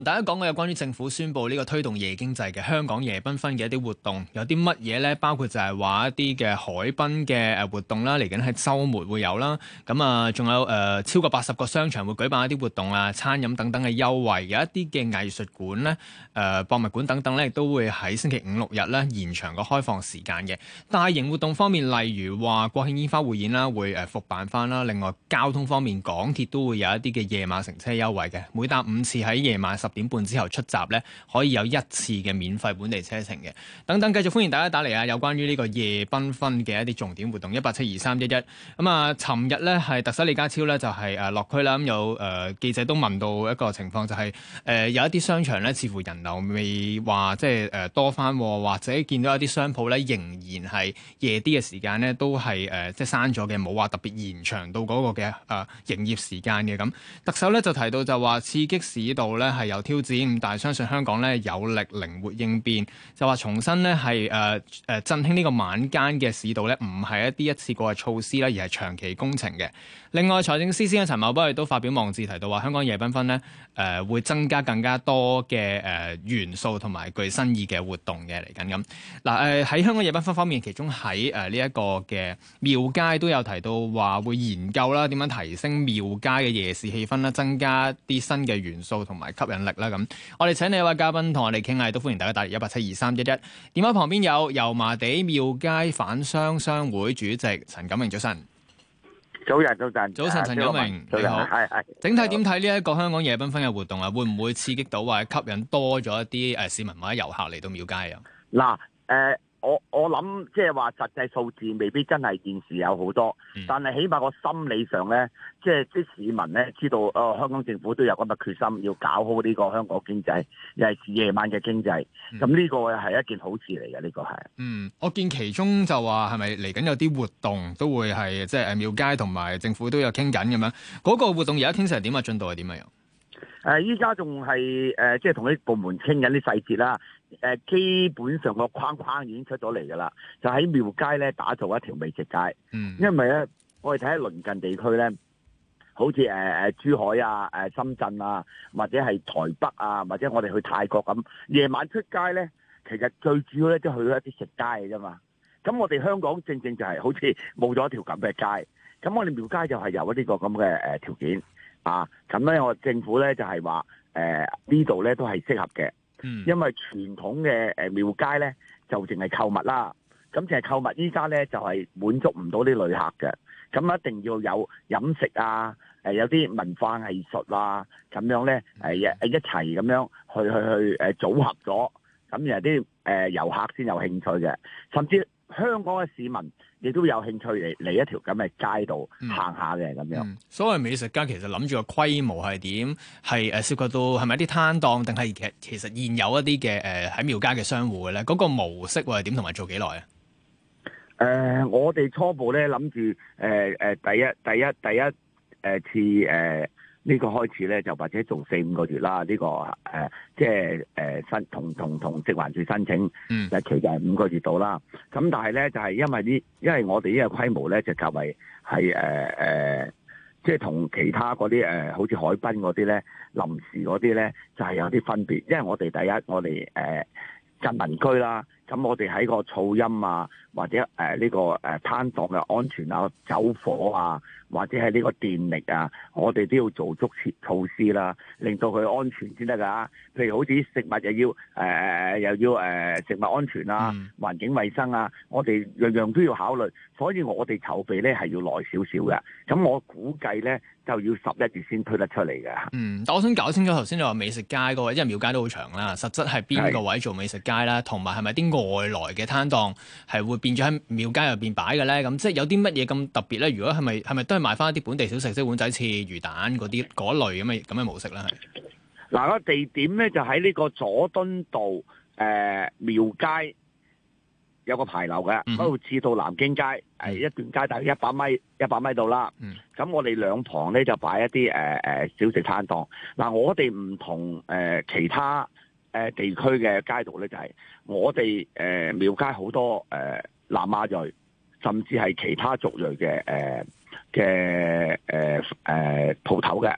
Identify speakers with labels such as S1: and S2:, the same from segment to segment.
S1: 大家講嘅有關於政府宣布呢個推動夜經濟嘅香港夜繽紛嘅一啲活動，有啲乜嘢呢？包括就係話一啲嘅海濱嘅活動啦，嚟緊喺週末會有啦。咁啊，仲有超過80個商場會舉辦一啲活動啊，餐飲等等嘅優惠。有一啲嘅藝術館呢、博物館等等呢，亦都會喺星期5、6日呢延長個開放時間嘅。大型活動方面，例如話國慶煙花匯演啦，會復辦翻啦。另外交通方面，港鐵都會有一啲嘅夜晚乘車優惠嘅，每搭5次喺夜晚10點半之後出閘咧，可以有1次嘅免費本地車程嘅。等等，繼續歡迎大家打嚟啊！有關於呢個夜繽紛嘅一啲重點活動，1872311。咁啊，尋日咧係特首李家超咧就係落區啦。咁有記者都問到一個情況，就係有一啲商場咧，似乎人流未話即係多翻，或者見到一啲商鋪咧仍然係夜啲嘅時間咧都係即係閂咗嘅，冇話特別延長到嗰個嘅營業時間嘅。咁特首咧就提到就話刺激市道咧係有挑戰，但係相信香港咧有力靈活應變，就話重新咧係振興呢個晚間嘅市道咧，唔係一啲一次過嘅措施啦，而係長期工程嘅。另外，財政司司長陳茂波亦都發表網誌提到話，香港夜繽紛咧會增加更加多嘅元素同埋具新意嘅活動嘅嚟緊咁。嗱喺香港夜繽紛方面，其中喺呢一個嘅廟街都有提到話會研究啦，點樣提升廟街嘅夜市氣氛啦，增加啲新嘅元素同埋吸引力啦咁。我哋請你一位嘉賓同我哋傾下，都歡迎大家打嚟1872311。電話旁邊有油麻地廟街販商商會主席陳錦榮，早晨。
S2: 早晨，
S1: 早晨，陳錦榮，你好。係。整體點睇呢一個香港夜繽紛嘅活動啊？會唔會刺激到或者吸引多咗一啲市民或者遊客嚟到廟街啊？
S2: 嗱，我諗即係話實際數字未必真係現時有好多，但係起碼個心理上咧，即係啲市民咧知道，香港政府都有咁嘅決心，要搞好呢個香港經濟，又係夜晚嘅經濟。咁呢個係一件好事嚟嘅，呢個係。
S1: 我見其中就話係咪嚟緊有啲活動都會係即係廟街同埋政府都有傾緊咁樣？嗰個活動而家傾成點啊？進度係點啊？
S2: 依家仲係即係同啲部門傾緊啲細節啦。基本上個框框已經出咗嚟㗎啦，就喺廟街咧打造一條美食街。因為咧，我哋睇下鄰近地區咧，好似珠海啊、深圳啊，或者係台北啊，或者我哋去泰國咁，夜晚出街咧，其實最主要咧都去咗一啲食街嘅啫嘛。咁我哋香港正正就係好似冇咗一條咁嘅街，咁我哋廟街就係有呢個咁嘅條件啊。咁咧，我政府咧就係話呢度咧都係適合嘅。因為傳統嘅廟街咧就淨係購物啦，咁淨係購物依家咧就係滿足唔到啲旅客嘅，咁一定要有飲食啊，有啲文化藝術啊，咁樣咧一齊咁樣去組合咗，咁然後啲遊客先有興趣嘅，甚至香港嘅市民亦都有興趣嚟一條咁嘅街道行下嘅咁樣。
S1: 所謂美食街其實諗住個規模係點？係涉及到係咪一啲攤檔，定係其實現有一啲嘅喺廟街嘅商戶嘅咧？嗰個模式會係點同埋做幾耐啊？
S2: 我哋初步咧諗住第一次呢個開始咧就或者做4-5個月啦。呢個即係申同食環署申請，日期就係5個月到啦。咁但係咧就係因為我哋呢個規模咧就較為係即係同其他嗰啲好似海濱嗰啲咧臨時嗰啲咧就係有啲分別。因為我哋第一我哋近民居啦，咁我哋喺個噪音啊，或者呢個攤檔嘅安全啊、走火啊，或者係呢個電力啊，我哋都要做足措施啦，令到佢安全先得㗎。譬如好似食物又要食物安全啊、環境衛生啊，我哋樣樣都要考慮，所以我哋籌備咧係要耐少少嘅。咁我估計咧就要11月先推得出嚟嘅。
S1: 但我想搞清楚頭先你話美食街嗰個，因為廟街都好長啦，實質係邊個位做美食街啦？同埋係咪啲外來嘅攤檔係會變咗喺廟街入邊擺嘅咧？咁即係有啲乜嘢咁特別咧？如果係咪都係賣翻一啲本地小食，即係碗仔翅、魚蛋嗰類咁嘅模式咧？係
S2: 嗱，個地點咧就喺呢個佐敦道廟街有個牌樓嘅，嗰度至到南京街一段街大約100米度啦。咁我哋兩旁咧就擺一啲小食攤檔。嗱，我哋唔同其他地區嘅街道咧，就係我哋廟街好多南亞裔，甚至係其他族裔嘅鋪頭嘅。咁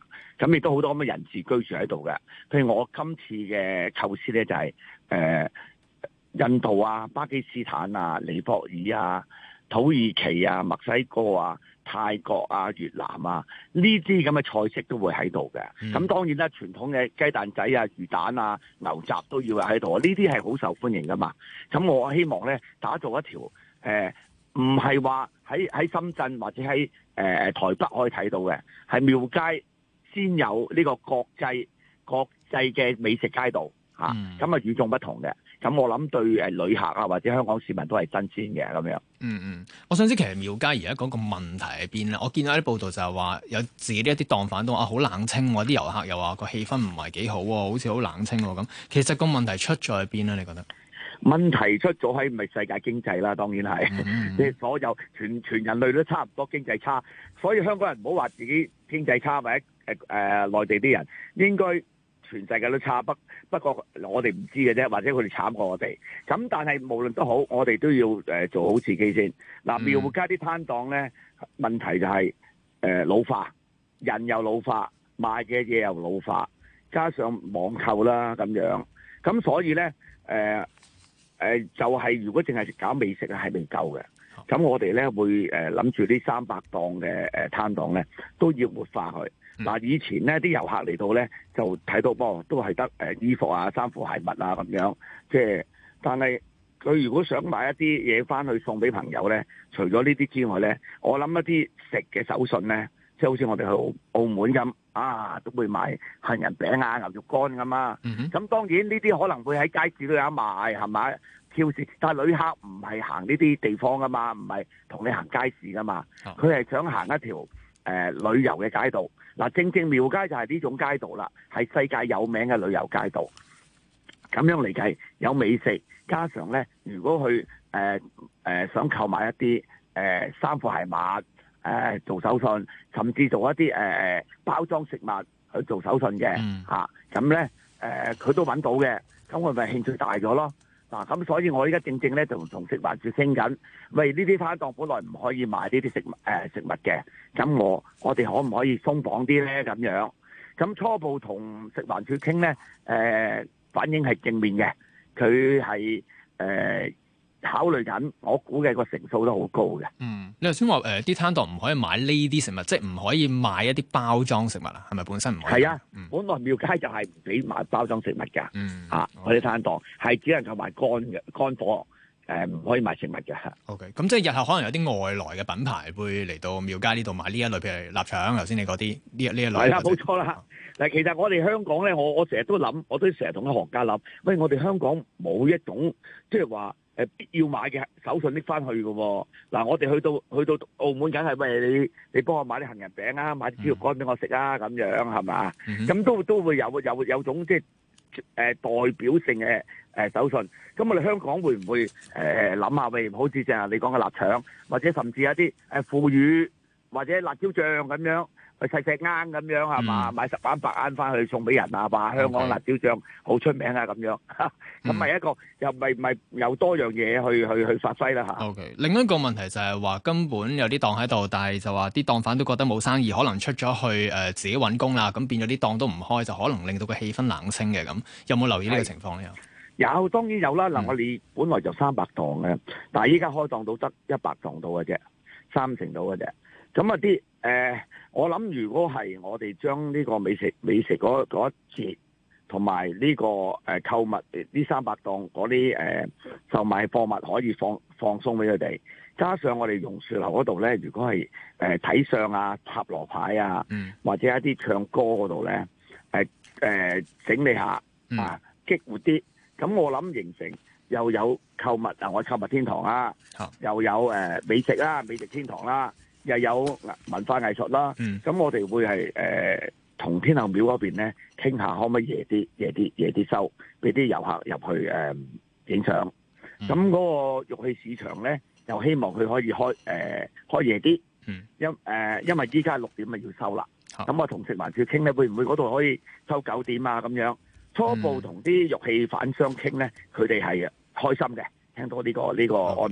S2: 咁亦都好多咁嘅人士居住喺度嘅。譬如我今次嘅構思咧就係、印度啊、巴基斯坦啊、尼泊爾啊、土耳其啊、墨西哥啊、泰國啊、越南啊，呢啲咁嘅菜式都會喺度嘅。咁當然啦，傳統嘅雞蛋仔啊、魚蛋啊、牛雜都要喺度，呢啲係好受歡迎噶嘛。咁我希望咧打造一條唔係話喺深圳或者喺台北可以睇到嘅，係廟街先有呢個國際嘅美食街道嚇，咁與眾不同嘅。咁我諗對旅客啊或者香港市民都係新鮮嘅咁樣。
S1: 我想知其實廟街而家嗰個問題喺邊咧？我見到啲報道就係話有自己一啲檔販都話好冷清喎，啲遊客又話個氣氛唔係幾好喎，好似好冷清喎咁。其實個問題出咗喺邊咧？你覺得？
S2: 問題出咗喺咪世界經濟啦，當然係，即係所有全人類都差唔多經濟差，所以香港人唔好話自己經濟差，或者內地啲人應該全世界都差，不過我哋唔知嘅啫，或者佢哋慘過我哋。咁但係無論都好，我哋都要做好自己先。嗱，廟街啲攤檔咧，問題就係老化，人又老化，賣嘅嘢又老化，加上網購啦咁樣，咁所以咧就係如果淨係搞美食係未夠嘅，咁我哋咧會諗住呢300檔嘅攤檔咧都要活化佢。嗱，以前咧啲遊客嚟到咧就睇到都係得衣服啊、衫褲鞋襪啊咁樣，即係但係佢如果想買一啲嘢翻去送俾朋友咧，除咗呢啲之外咧，我諗一啲食嘅手信咧，即係好似我哋去澳門咁啊，都會賣杏仁餅啊、牛肉乾咁啊。咁當然呢啲可能會喺街市都有得賣，係咪？超市，但係旅客唔係行呢啲地方噶嘛，唔係同你行街市噶嘛，佢係想行一條旅遊嘅街道。嗱，正廟街就係呢種街道啦，係世界有名嘅旅遊街道。咁樣嚟計，有美食，加上咧，如果佢想購買一啲衫褲鞋襪，做手信，甚至做一啲包裝食物去做手信嘅嚇，咁咧佢都揾到嘅，咁我咪興趣大咗咯。嗱，咁所以我依家正咧就同食環署傾緊，喂，呢啲攤檔本來唔可以賣呢啲食物嘅，咁我哋可唔可以鬆綁啲咧？咁樣，咁初步同食環署傾咧，反應係正面嘅，佢係考慮緊，我估計個成數都好高嘅。
S1: 你頭先話啲攤檔唔可以買呢啲食物，即係唔可以買一啲包裝食物啊？係咪本身唔可以？
S2: 係啊，本來廟街就係唔俾買包裝食物㗎。嗰啲攤檔係只能夠賣乾貨，唔可以賣食物嘅。
S1: OK， 咁即係日後可能有啲外來嘅品牌會嚟到廟街呢度買呢一類，譬如臘腸，頭先你嗰啲呢一類。
S2: 係啦，冇錯啦。嗱，其實我哋香港咧，我成日都諗，我都成日同啲行家諗，喂，我哋香港冇一種即係話必要買嘅手信拎翻去嘅喎。嗱，我哋去到澳門，梗係喂你幫我買啲杏仁餅啊，買啲豬肉乾俾我食啊，咁樣係嘛？咁都會有種即係代表性嘅手信。咁我哋香港會唔會諗下喂，好似正係你講嘅臘腸，或者甚至一啲腐乳或者辣椒醬咁樣？細啱咁樣係嘛？買10盎8盎翻去送俾人啊！話香港辣椒醬好出名啊咁樣，咁咪一個又咪有多樣嘢去發揮啦嚇。
S1: OK， 另一個問題就係話根本有啲檔喺度，但係就話啲檔販都覺得冇生意，可能出咗去自己揾工啦，咁變咗啲檔都唔開，就可能令到個氣氛冷清嘅咁。有冇留意呢個情況咧？
S2: 有當然有啦。嗱，我哋本來就300檔嘅，但係依家開檔到得100檔到嘅啫，30%到嘅啫。咁啊啲我諗如果係我哋將呢個美食嗰一節，同埋呢個購物呢300檔嗰啲售賣貨物可以放鬆俾佢哋，加上我哋榕樹樓嗰度咧，如果係睇相啊、塔羅牌啊，或者一啲唱歌嗰度咧，整理下啊，激活啲，咁我諗形成又有購物啊，我購物天堂啦，又有美食啦，美食天堂啦。又有文化藝術啦，咁我哋會係同天后廟嗰邊咧傾下，可唔可以夜啲收，俾啲遊客入去影相。咁嗰個玉器市場咧，又希望佢可以開夜啲，因為依家6點咪要收啦。咁我同食環署傾咧，會唔會嗰度可以收9點啊？咁樣初步同啲玉器販商傾咧，佢哋係開心嘅，聽到呢個安排。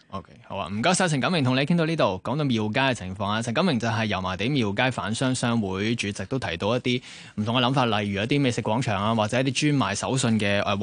S1: OK， 好啊，唔該晒陳錦榮，同你傾到呢度，講到廟街嘅情況啊。陳錦榮就係油麻地廟街販商商會主席，都提到一啲唔同嘅諗法，例如一啲美食廣場啊，或者一啲專賣手信嘅